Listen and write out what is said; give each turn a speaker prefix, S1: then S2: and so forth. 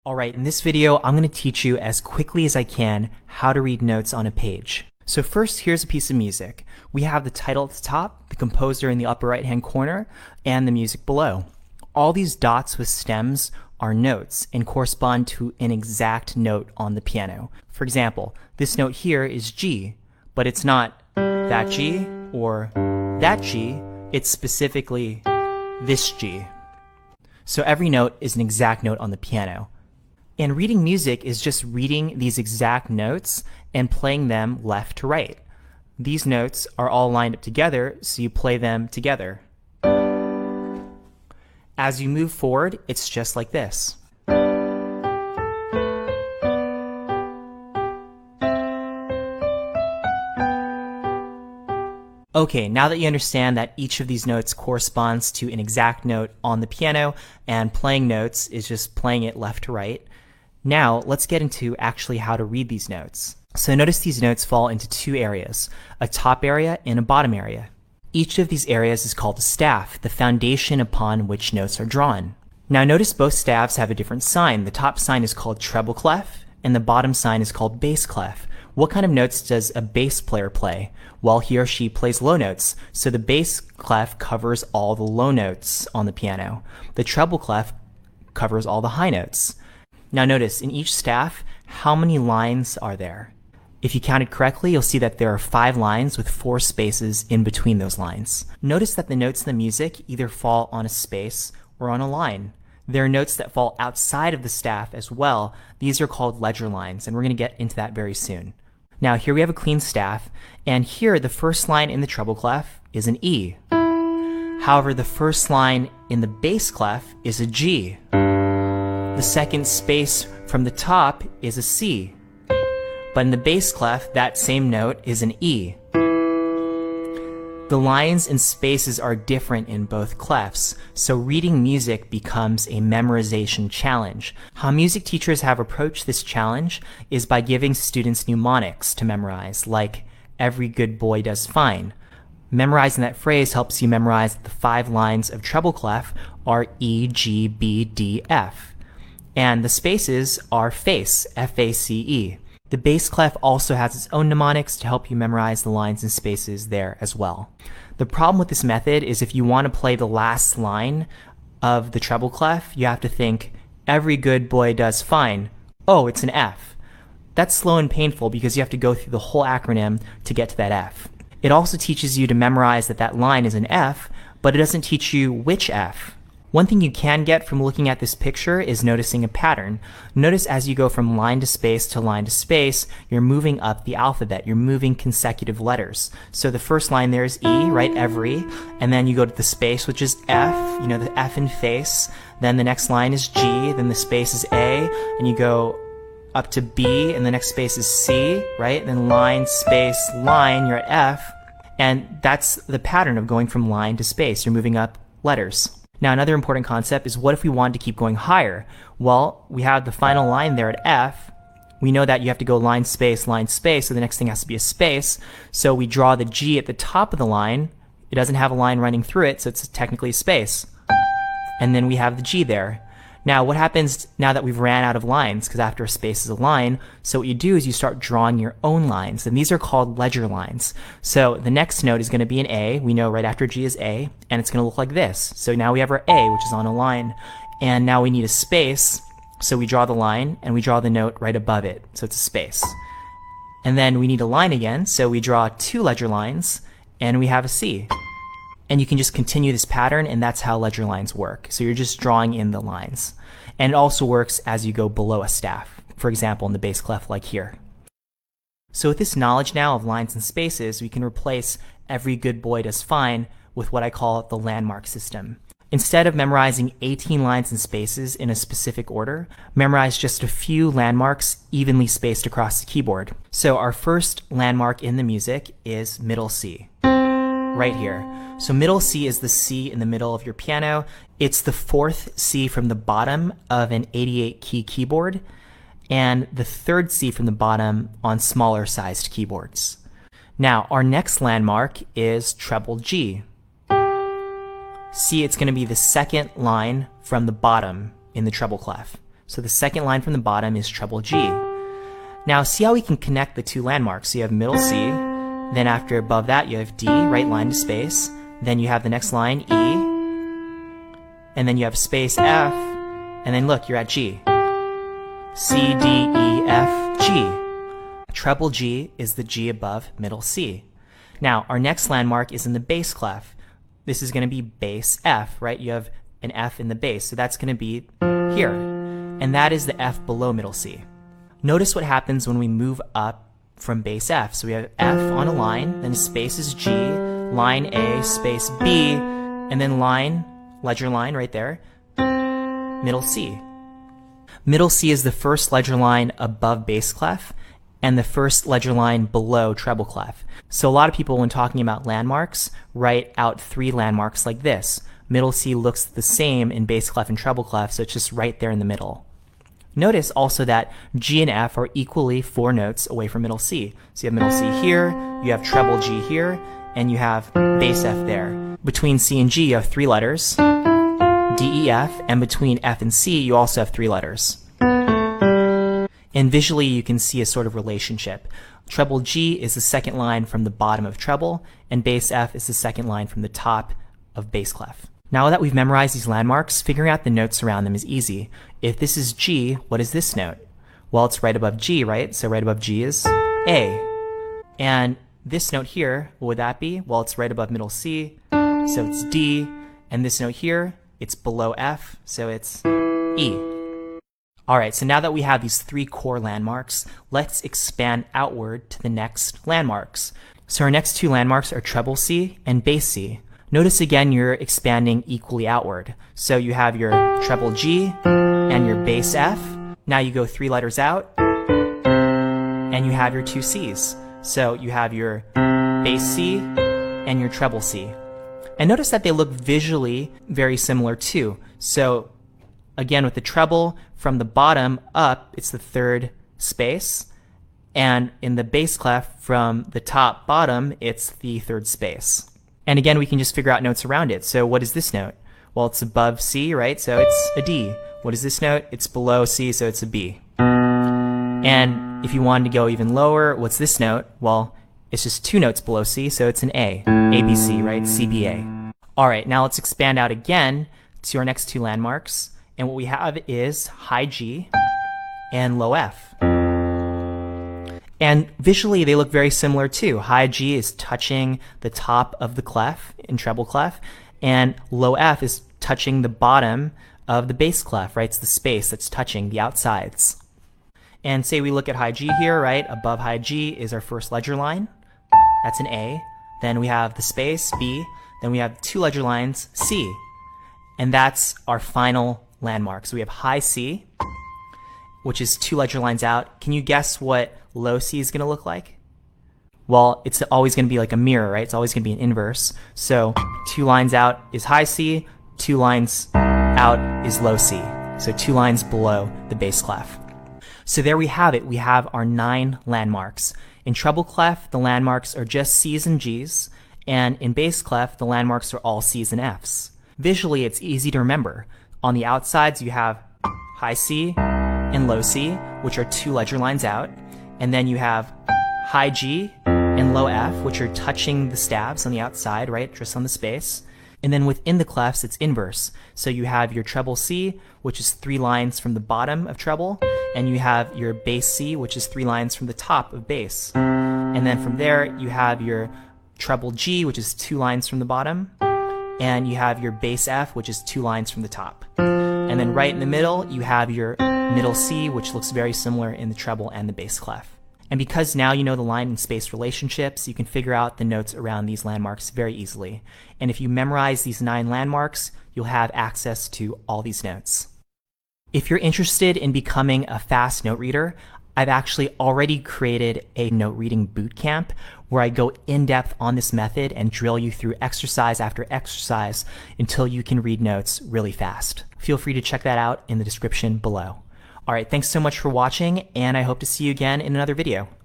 S1: Alright, in this video, I'm going to teach you as quickly as I can how to read notes on a page. So first, here's a piece of music. We have the title at the top, the composer in the upper right-hand corner, and the music below. All these dots with stems are notes and correspond to an exact note on the piano. For example, this note here is G, but it's not that G or that G, it's specifically this G. So every note is an exact note on the piano. And reading music is just reading these exact notes and playing them left to right. These notes are all lined up together, so you play them together. As you move forward, it's just like this. Okay, now that you understand that each of these notes corresponds to an exact note on the piano and playing notes is just playing it left to right, now let's get into actually how to read these notes. So notice these notes fall into two areas, a top area and a bottom area. Each of these areas is called a staff, the foundation upon which notes are drawn. Now notice both staves have a different sign. The top sign is called treble clef and the bottom sign is called bass clef. What kind of notes does a bass player play? Well, he or she plays low notes, so the bass clef covers all the low notes on the piano. The treble clef covers all the high notes. Now notice, in each staff, how many lines are there? If you counted correctly, you'll see that there are 5 lines with 4 spaces in between those lines. Notice that the notes in the music either fall on a space or on a line. There are notes that fall outside of the staff as well. These are called ledger lines, and we're going to get into that very soon. Now here we have a clean staff, and here the first line in the treble clef is an E. However, the first line in the bass clef is a G. The second space from the top is a C. But in the bass clef, that same note is an E. The lines and spaces are different in both clefs, so reading music becomes a memorization challenge. How music teachers have approached this challenge is by giving students mnemonics to memorize, like "every good boy does fine." Memorizing that phrase helps you memorize that the 5 lines of treble clef are E, G, B, D, F. And the spaces are face, F-A-C-E. The bass clef also has its own mnemonics to help you memorize the lines and spaces there as well. The problem with this method is if you want to play the last line of the treble clef, you have to think, "every good boy does fine." Oh, it's an F. That's slow and painful because you have to go through the whole acronym to get to that F. It also teaches you to memorize that that line is an F, but it doesn't teach you which F. One thing you can get from looking at this picture is noticing a pattern. Notice as you go from line to space, you're moving up the alphabet. You're moving consecutive letters. So the first line there is E, right, every, and then you go to the space, which is F, the F in face. Then the next line is G, then the space is A, and you go up to B, and the next space is C, right? And then line, space, line, you're at F. And that's the pattern of going from line to space. You're moving up letters. Now another important concept is what if we wanted to keep going higher? Well, we have the final line there at F. We know that you have to go line, space, so the next thing has to be a space. So we draw the G at the top of the line. It doesn't have a line running through it, so it's technically a space. And then we have the G there. Now what happens now that we've ran out of lines, because after a space is a line, so what you do is you start drawing your own lines, and these are called ledger lines. So the next note is going to be an A. We know right after G is A, and it's going to look like this. So now we have our A, which is on a line, and now we need a space, so we draw the line, and we draw the note right above it, so it's a space. And then we need a line again, so we draw 2 ledger lines, and we have a C. And you can just continue this pattern, and that's how ledger lines work. So you're just drawing in the lines. And it also works as you go below a staff, for example, in the bass clef like here. So with this knowledge now of lines and spaces, we can replace "every good boy does fine" with what I call the landmark system. Instead of memorizing 18 lines and spaces in a specific order, memorize just a few landmarks evenly spaced across the keyboard. So our first landmark in the music is middle C, right here. So middle C is the C in the middle of your piano. It's the 4th C from the bottom of an 88 key keyboard and the 3rd C from the bottom on smaller sized keyboards. Now our next landmark is treble G. See, it's going to be the 2nd line from the bottom in the treble clef. So the second line from the bottom is treble G. Now see how we can connect the two landmarks. So you have middle C, then after above that you have D, right line to space, then you have the next line E, and then you have space F, and then look, you're at G. C, D, E, F, G. Treble G is the G above middle C. Now our next landmark is in the bass clef. This is going to be bass F, right? You have an F in the bass, so that's going to be here. And that is the F below middle C. Notice what happens when we move up from bass F. So we have F on a line, then space is G, line A, space B, and then line, ledger line right there, middle C. Middle C is the first ledger line above bass clef and the first ledger line below treble clef. So a lot of people, when talking about landmarks, write out three landmarks like this. Middle C looks the same in bass clef and treble clef, so it's just right there in the middle. Notice also that G and F are equally 4 notes away from middle C. So you have middle C here, you have treble G here, and you have bass F there. Between C and G you have 3 letters, D, E, F, and between F and C you also have 3 letters. And visually you can see a sort of relationship. Treble G is the second line from the bottom of treble, and bass F is the second line from the top of bass clef. Now that we've memorized these landmarks, figuring out the notes around them is easy. If this is G, what is this note? Well, it's right above G, right? So right above G is A. And this note here, what would that be? Well, it's right above middle C, so it's D. And this note here, it's below F, so it's E. Alright, so now that we have these 3 core landmarks, let's expand outward to the next landmarks. So our next 2 landmarks are treble C and bass C. Notice again you're expanding equally outward. So you have your treble G and your bass F. Now you go 3 letters out and you have your 2 Cs. So you have your bass C and your treble C. And notice that they look visually very similar too. So again with the treble, from the bottom up it's the 3rd space, and in the bass clef from the top bottom it's the 3rd space. And again, we can just figure out notes around it. So what is this note? Well, it's above C, right? So it's a D. What is this note? It's below C, so it's a B. And if you wanted to go even lower, what's this note? Well, it's just 2 notes below C, so it's an A. A, B, C, right? C, B, A. All right, now let's expand out again to our next 2 landmarks. And what we have is high G and low F. And visually they look very similar too. High G is touching the top of the clef in treble clef, and low F is touching the bottom of the bass clef, right? It's the space that's touching the outsides. And say we look at high G here, right? Above high G is our first ledger line. That's an A. Then we have the space, B. Then we have 2 ledger lines, C. And that's our final landmark. So we have high C, which is 2 ledger lines out. Can you guess what low C is going to look like? Well, it's always going to be like a mirror, right? It's always going to be an inverse. So 2 lines out is high C, 2 lines out is low C. So 2 lines below the bass clef. So there we have it. We have our 9 landmarks. In treble clef, the landmarks are just C's and G's, and in bass clef, the landmarks are all C's and F's. Visually, it's easy to remember. On the outsides, you have high C and low C, which are 2 ledger lines out. And then you have high G and low F, which are touching the stabs on the outside, right, just on the space. And then within the clefs, it's inverse. So you have your treble C, which is 3 lines from the bottom of treble, and you have your bass C, which is 3 lines from the top of bass. And then from there, you have your treble G, which is 2 lines from the bottom, and you have your bass F, which is 2 lines from the top. And then right in the middle, you have your middle C, which looks very similar in the treble and the bass clef. And because now you know the line and space relationships, you can figure out the notes around these landmarks very easily. And if you memorize these 9 landmarks, you'll have access to all these notes. If you're interested in becoming a fast note reader, I've actually already created a note reading bootcamp where I go in depth on this method and drill you through exercise after exercise until you can read notes really fast. Feel free to check that out in the description below. All right, thanks so much for watching, and I hope to see you again in another video.